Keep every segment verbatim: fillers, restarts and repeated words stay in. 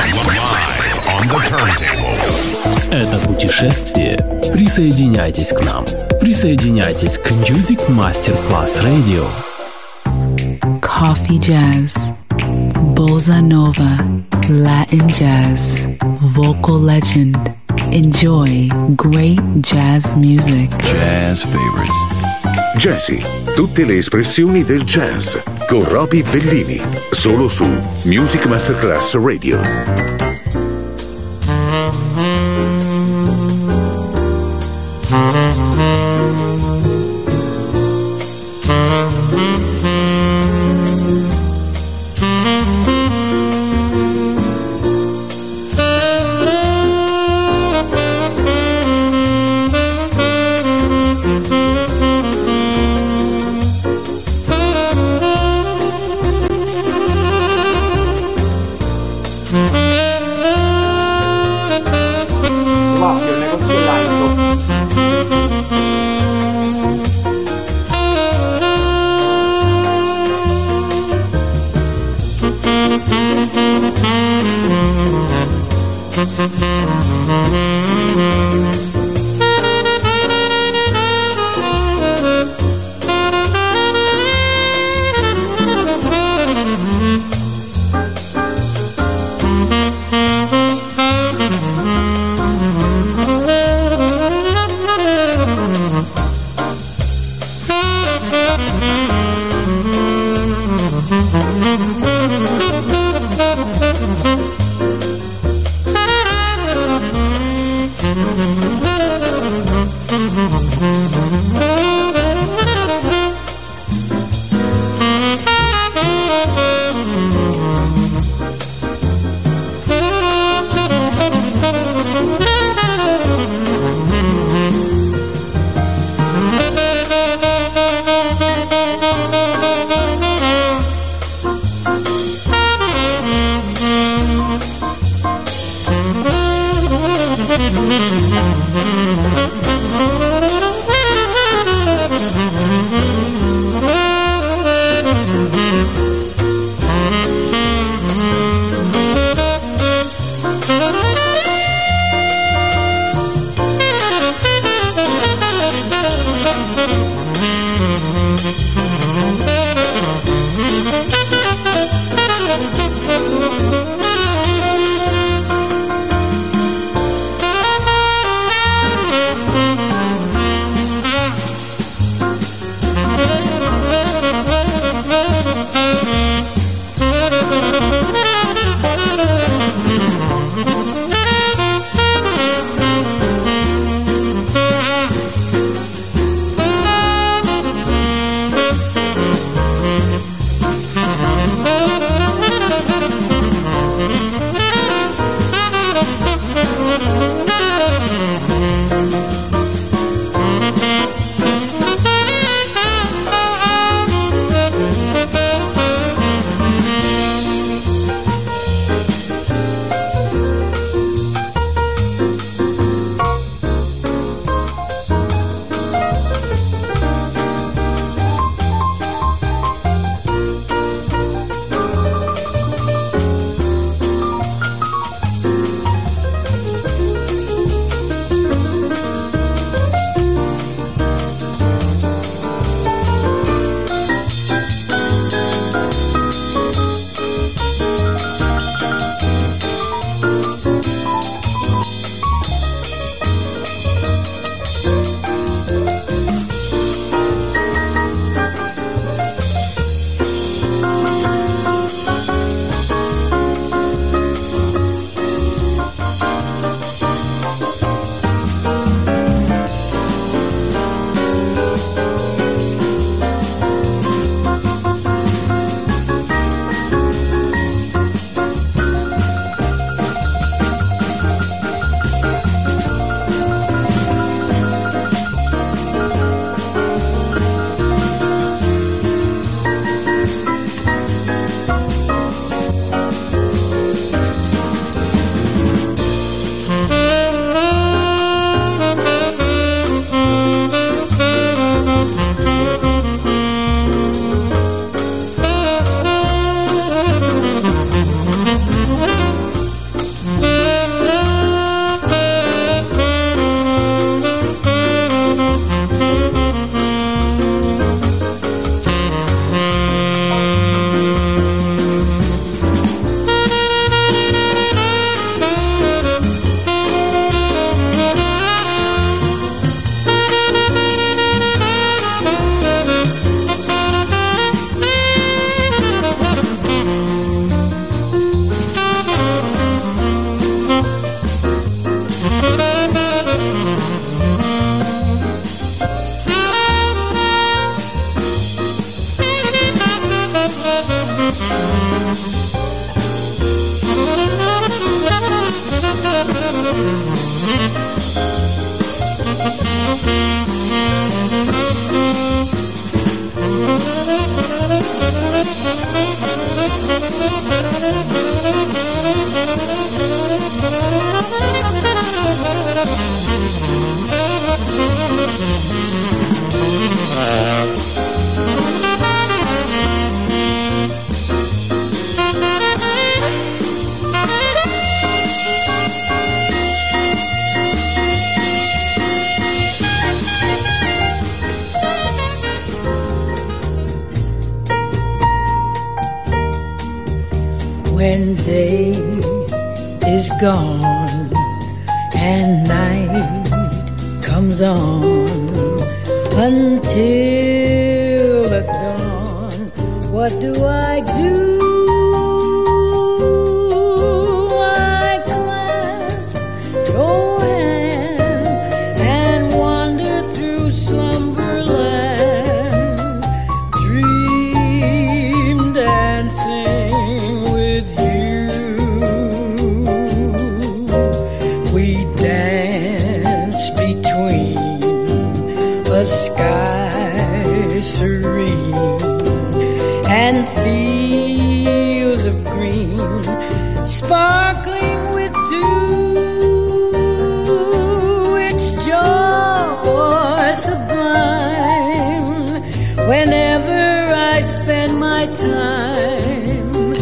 Live on the turntables. Это путешествие. Присоединяйтесь к нам. Присоединяйтесь к Music Masterclass Radio. Coffee jazz, bossa nova, Latin jazz, vocal legend. Enjoy great jazz music. Jazz favorites. Jazzy, tutte le espressioni del jazz con Roby Bellini, solo su Music Masterclass Radio. Mm-hmm. When day is gone and night comes on until the dawn, what do I do? I clasp your hand and wander through slumberland, dream dancing. A sky serene and fields of green sparkling with dew. It's joy sublime whenever I spend my time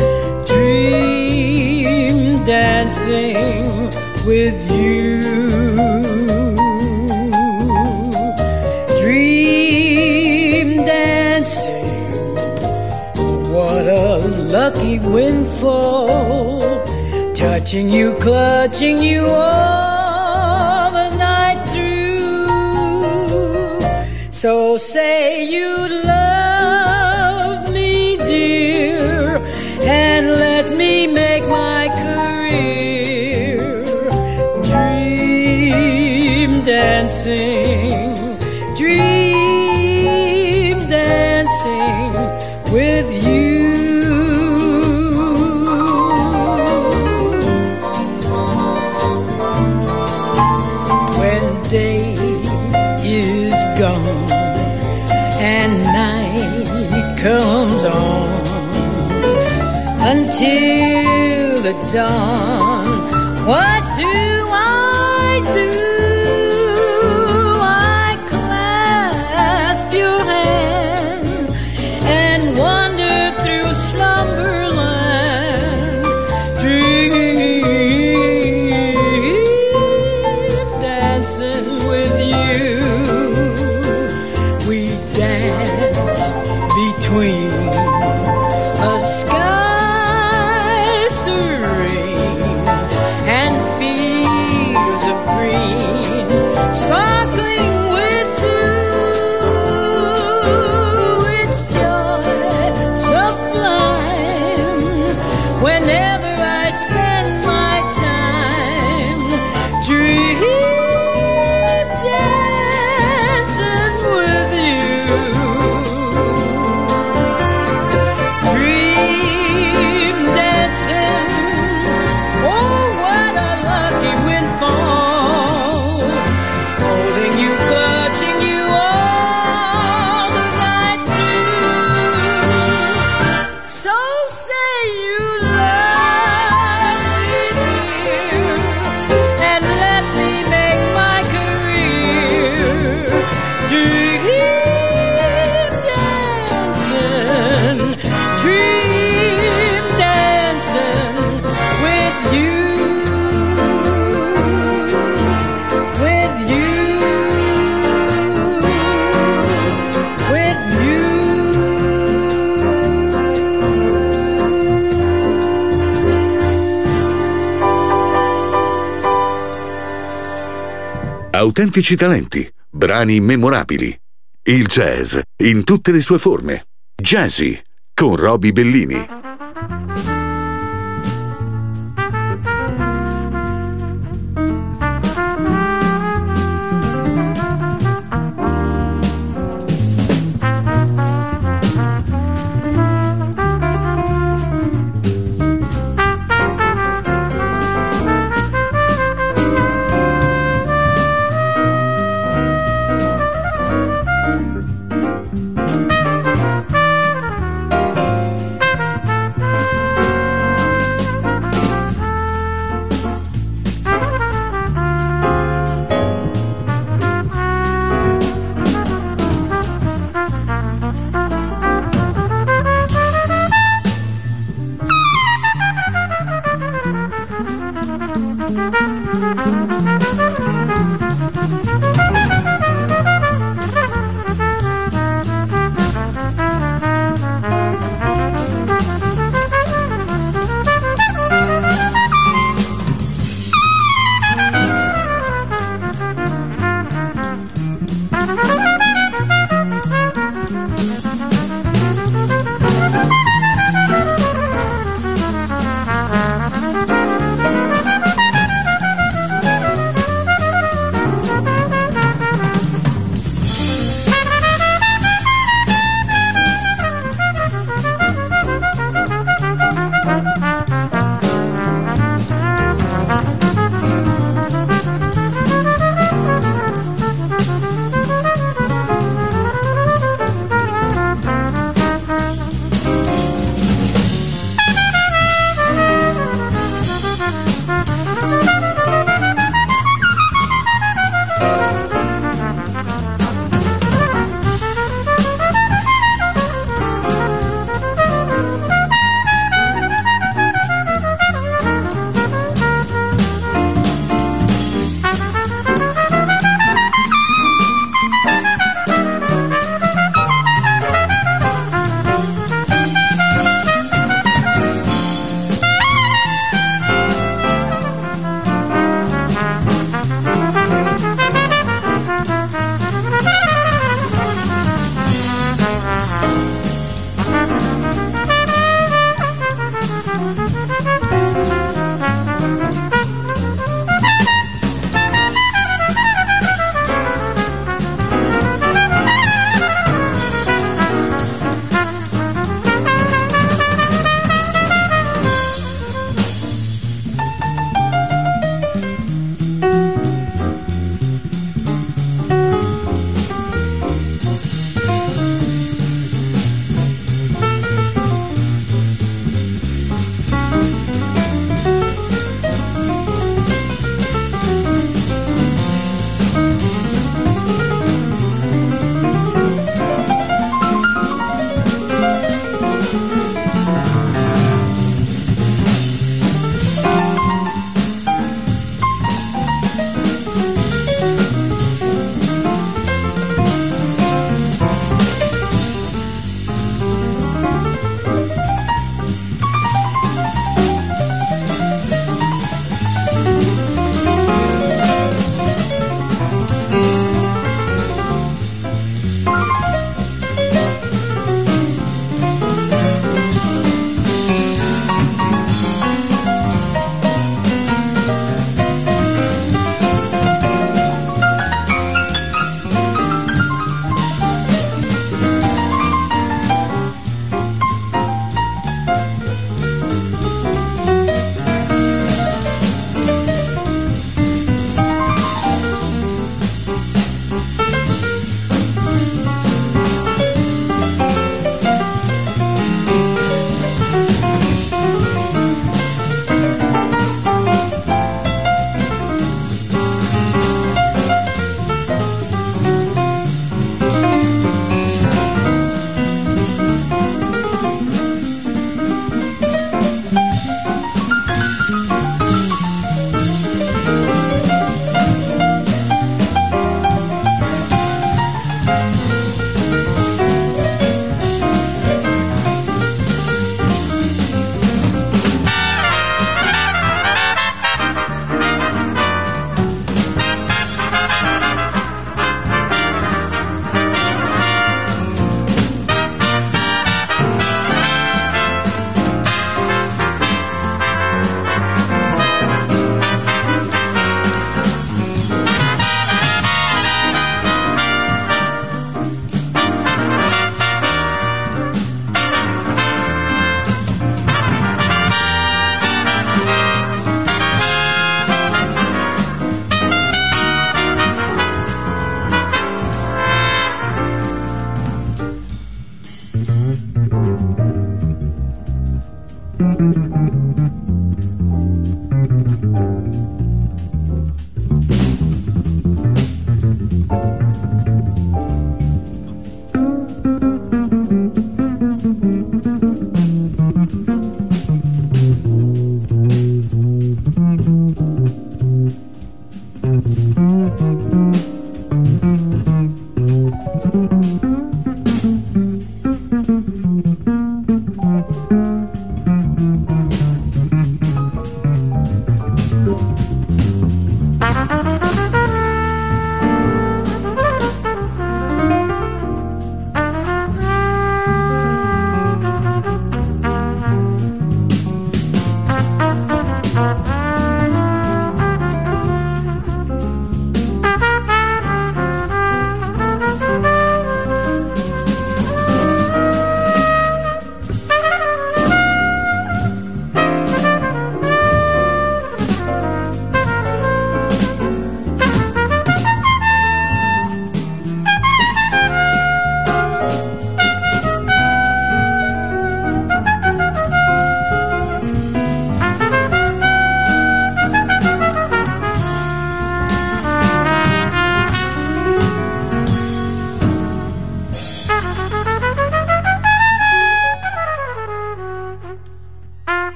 dream dancing with you. Lucky windfall, touching you, clutching you all the night through. So say you love me, dear, and let me make my career dream dancing, dream dancing with you. Day is gone and night comes on until the dawn. What do I do? I clasp your hand and wander through slumberland, dream with you. We dance between a sky serene and fields of green sparkling with dew. It's joy sublime whenever I spend my time dreaming. Autentici talenti, brani memorabili. Il jazz in tutte le sue forme. Jazzy con Roby Bellini.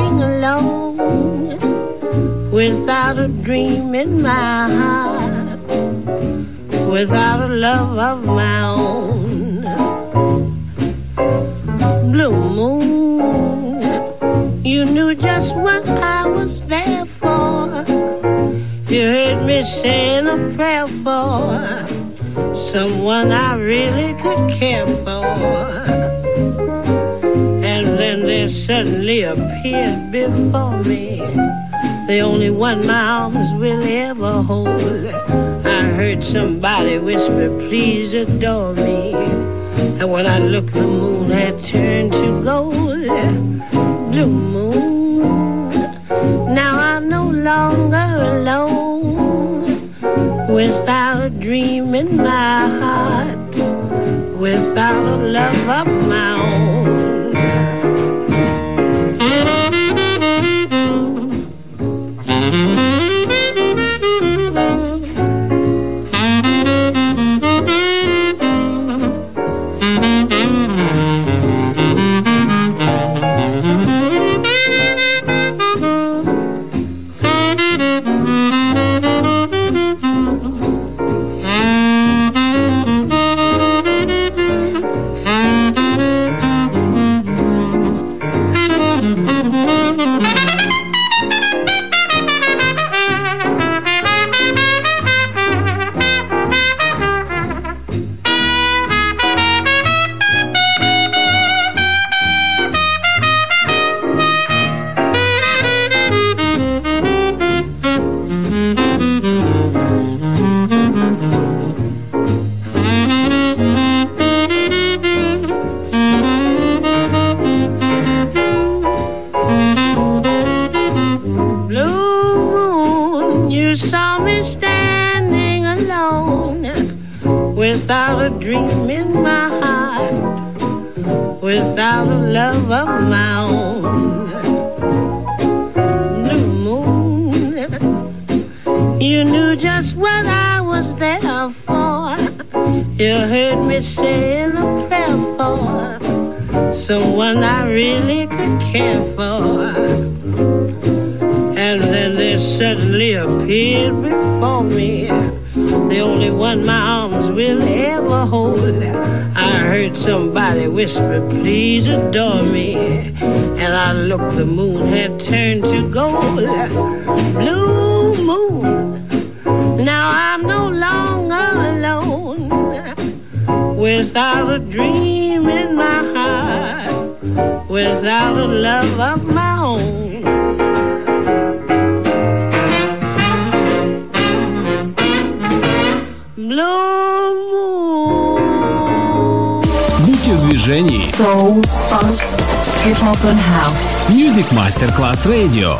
standing alone without a dream in my heart, without a love of my own. Blue moon, you knew just what I was there for. You heard me saying a prayer for someone I really could care for. And then there suddenly appeared before me the only one my arms will ever hold. I heard somebody whisper, please adore me. And when I looked, the moon had turned to gold. Blue moon, now I'm no longer alone, without a dream in my heart, without a love of my own. Without a dream in my heart, without a love of my own. Blue moon, you knew just what I was there for. You heard me saying a prayer for someone I really could care for. And then there suddenly appeared before me the only one my arms will ever hold. I heard somebody whisper, please adore me. And I looked, the moon had turned to gold. Blue moon, now I'm no longer alone, without a dream in my heart, without a love of my own. Будьте в движении. Soul, funk, hip-hop and house. Music Masterclass Radio.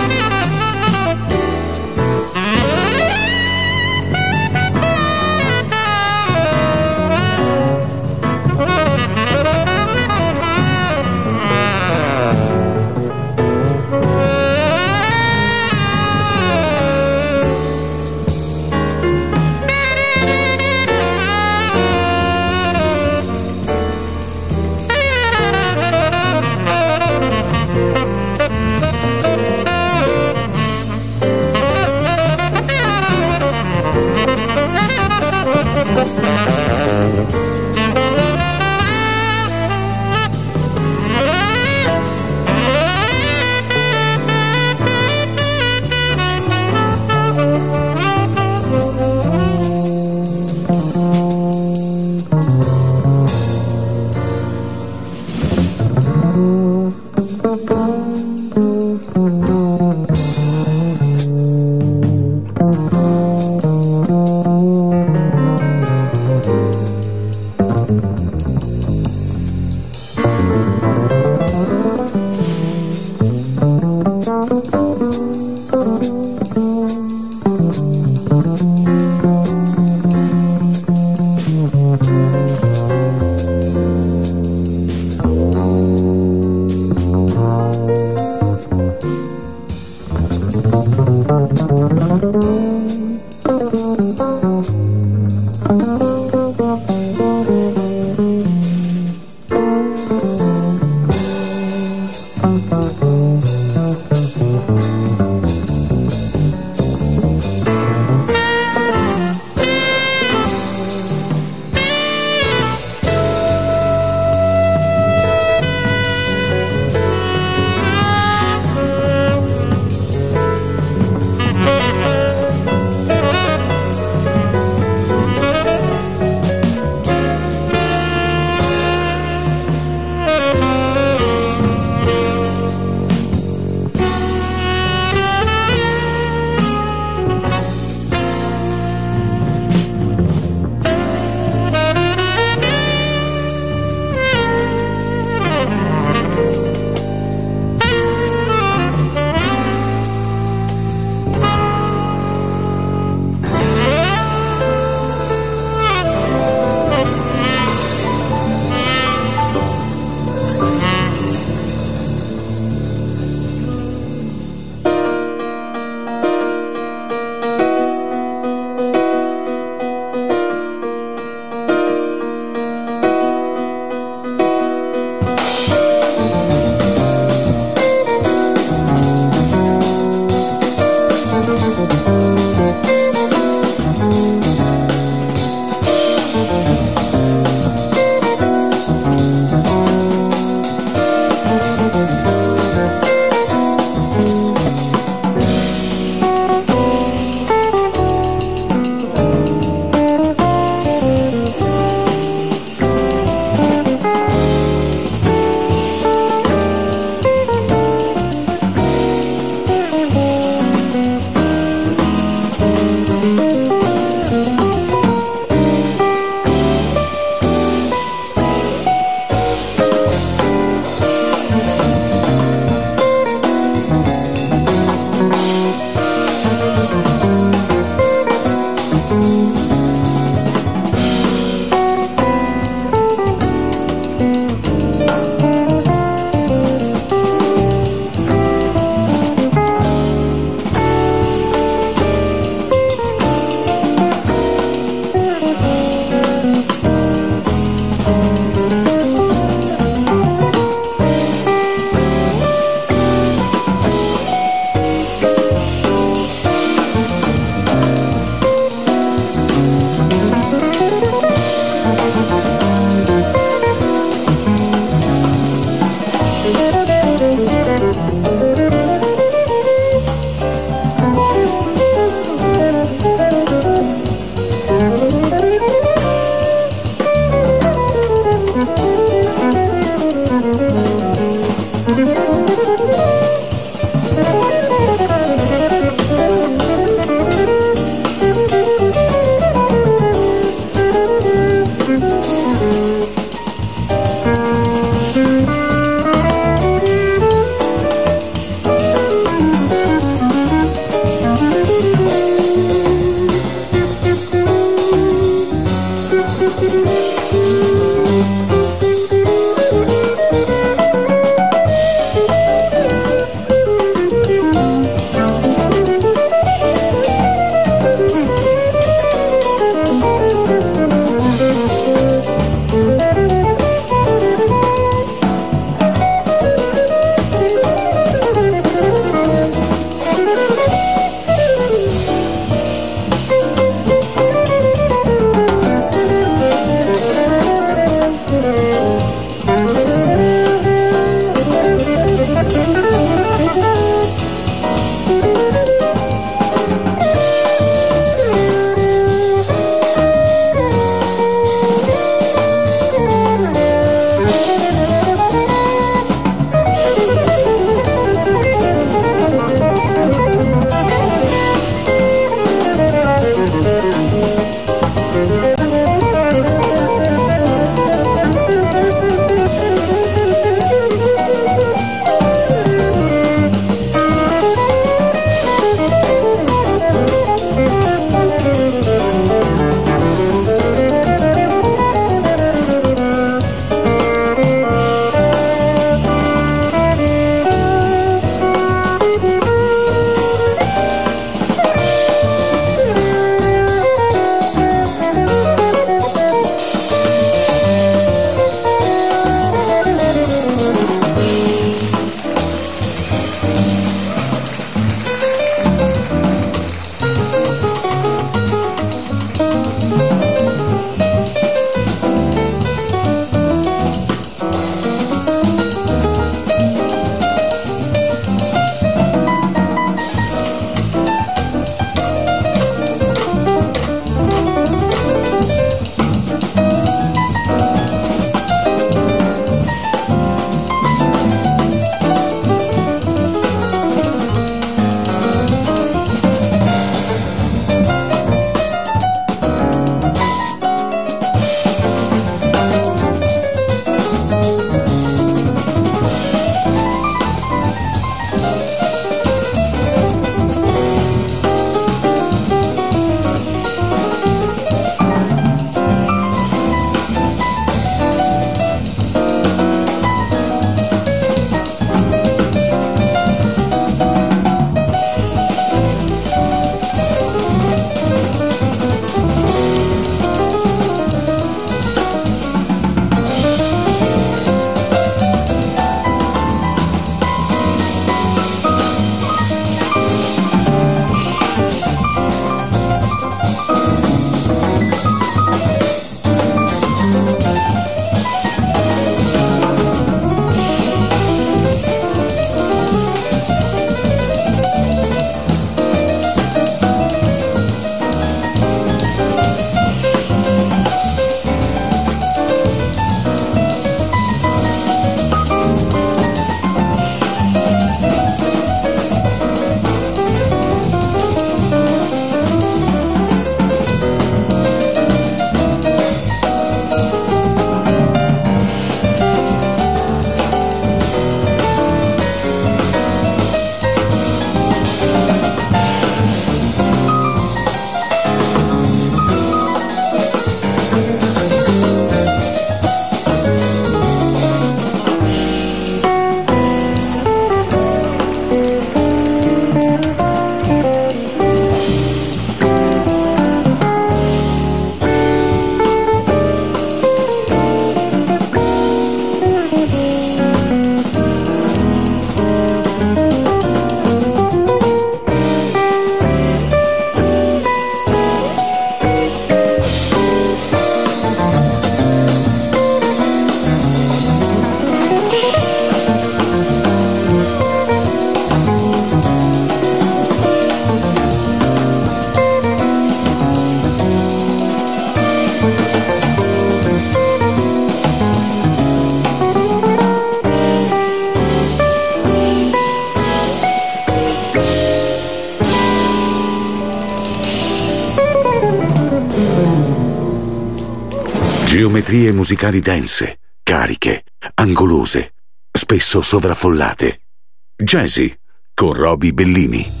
Geometrie musicali dense, cariche, angolose, spesso sovraffollate. Jazzy con Roby Bellini.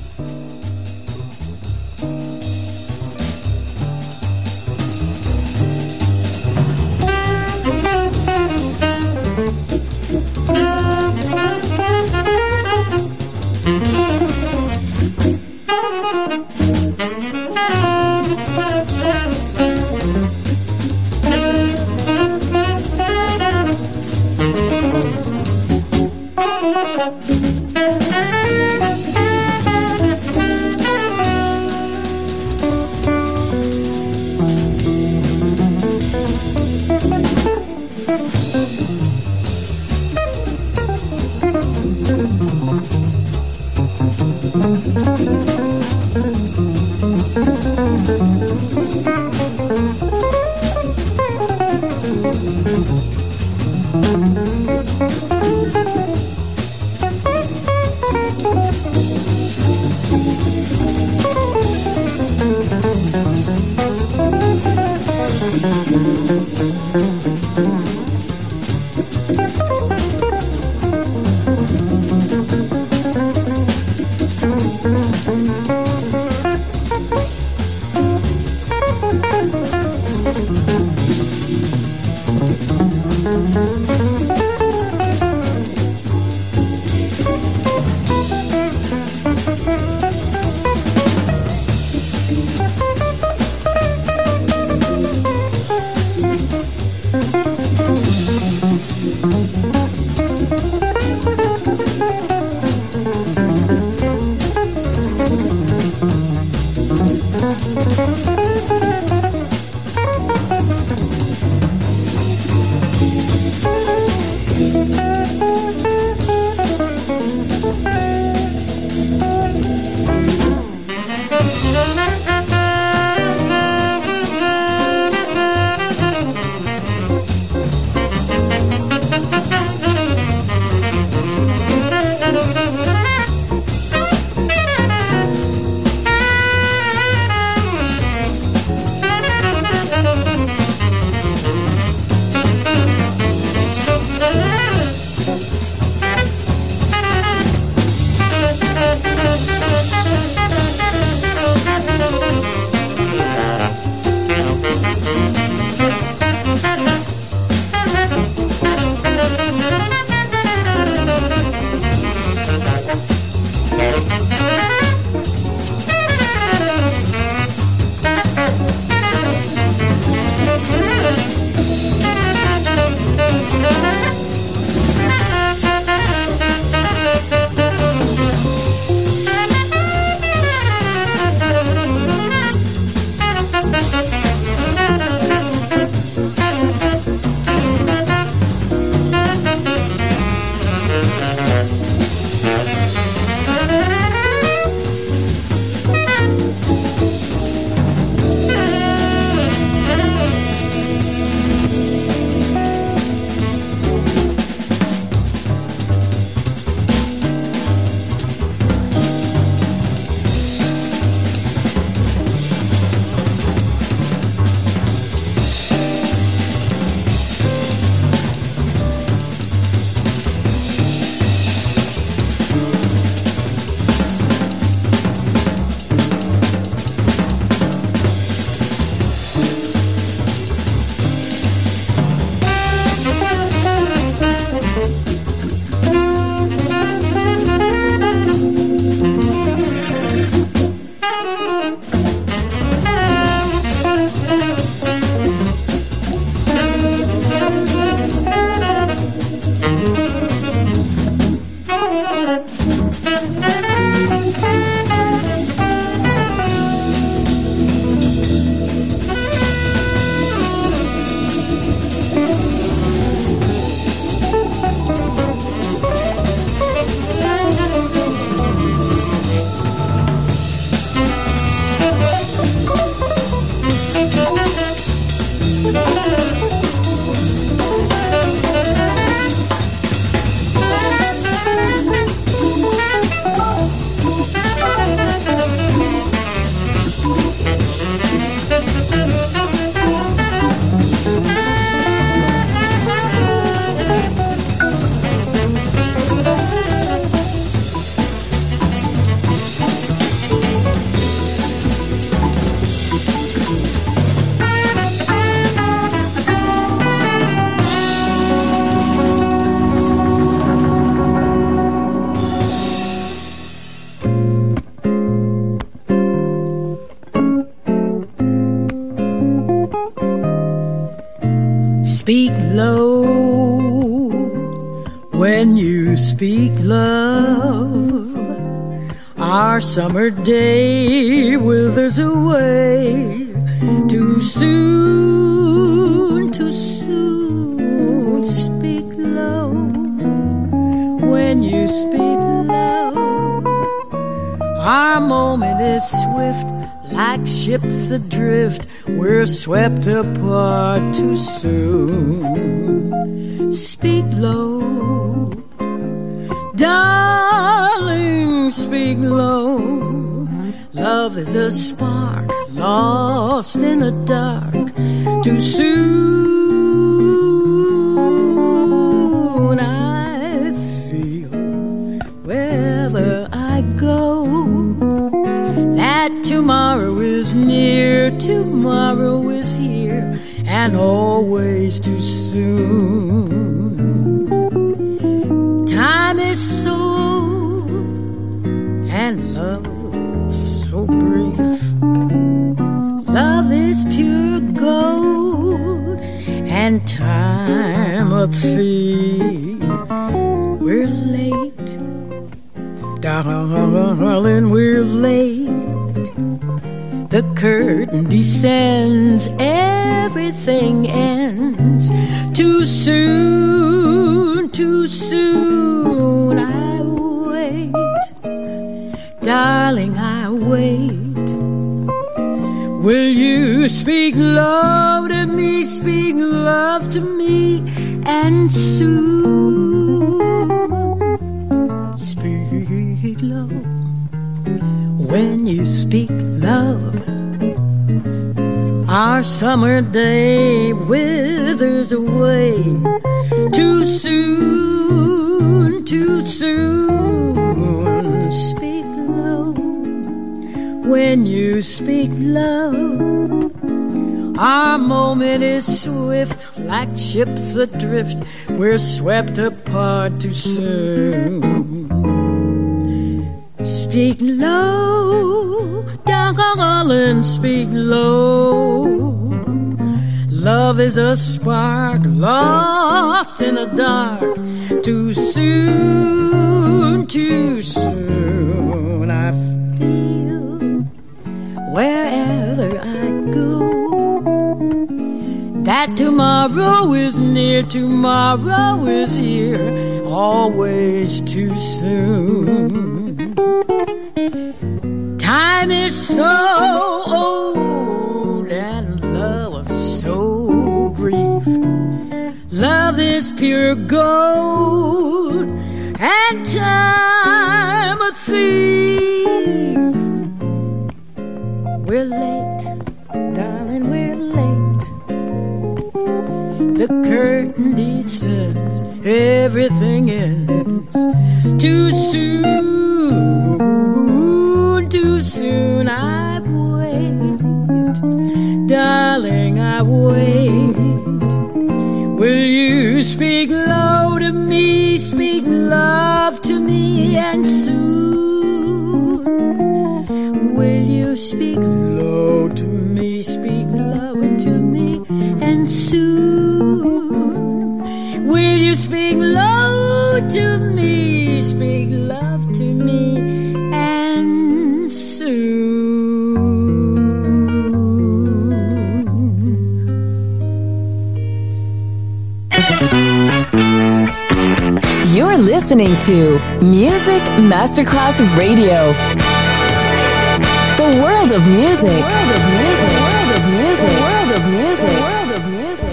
speak love, our summer day withers away. Too soon, too soon, speak low. When you speak low, our moment is swift, like ships adrift. We're swept apart too soon. Speak low, darling, speak low. Love is a spark lost in the dark. Too soon I feel wherever I go that tomorrow is near, tomorrow is here, and always too soon. Time is so old and love so brief. Love is pure gold and time a thief. We're late, darling, we're late. The curtain descends, everything ends. Too soon, too soon I wait. Darling, I wait. Will you speak love to me, speak love to me, and soon speak love. When you speak love, our summer day withers away. Too soon, too soon, speak low. When you speak love, our moment is swift, like ships adrift. We're swept apart too soon. Speak low, darling, speak low. Love is a spark lost in the dark. Too soon, too soon I feel wherever I go that tomorrow is near, tomorrow is here, always too soon. Time is so old and love so brief. Love is pure gold and time a thief. We're late, darling, we're late. The curtain descends, everything ends. Too soon, too soon I wait. Darling, I wait. Will you speak low to me, speak love to me, and soon will you speak low to me, speak love to me, and soon will you speak low to me, speak love to me, and soon. You're listening to Music Masterclass Radio. The world of music. The world of music. The world of music. The world of music. The world of music.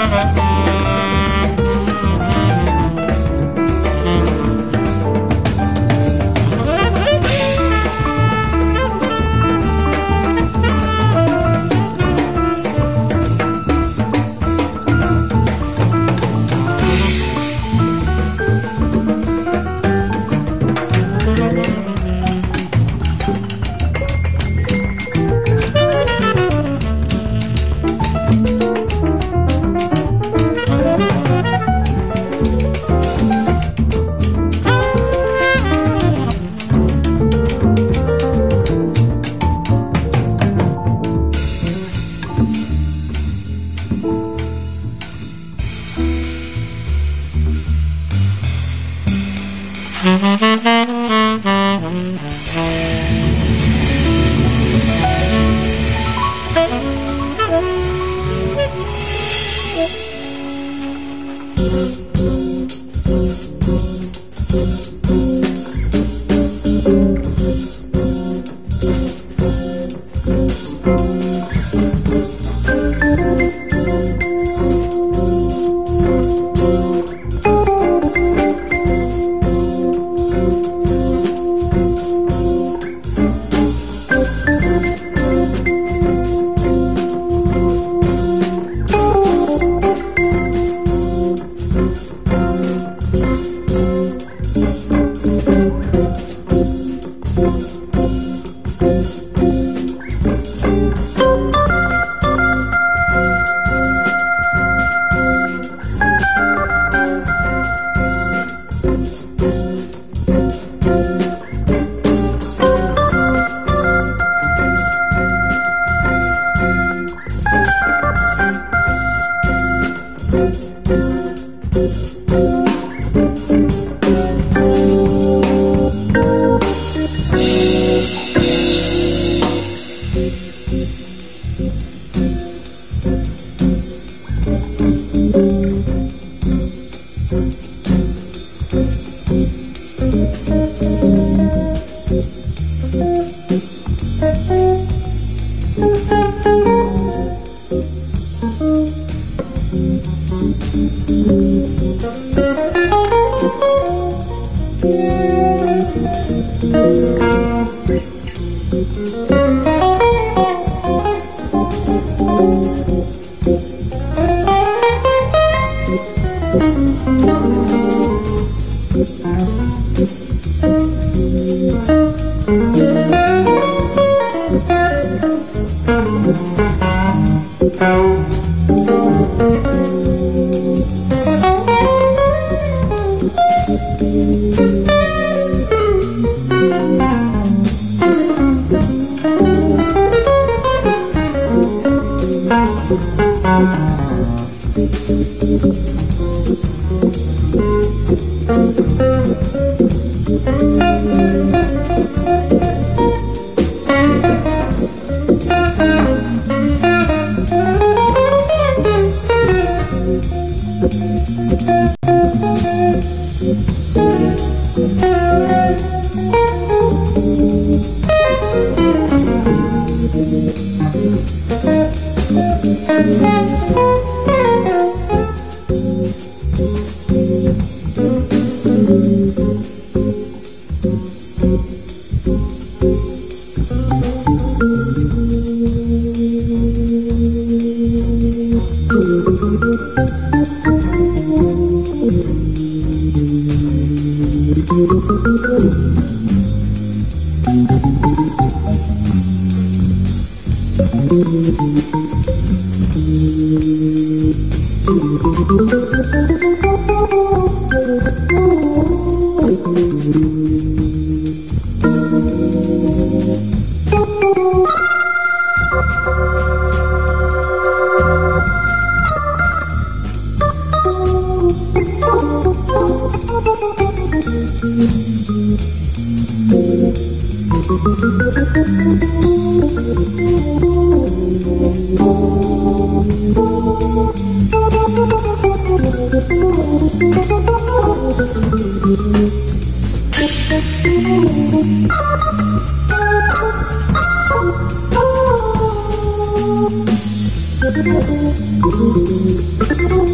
Thank you.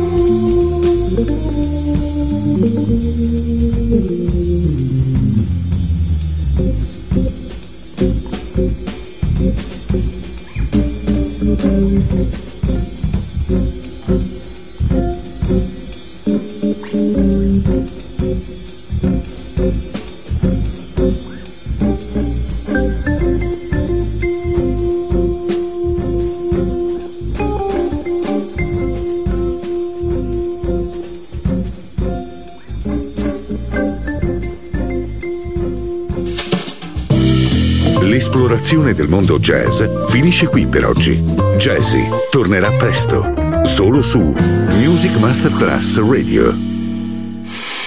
L'esplorazione del mondo jazz finisce qui per oggi. Jazzy tornerà presto, solo su Music Masterclass Radio.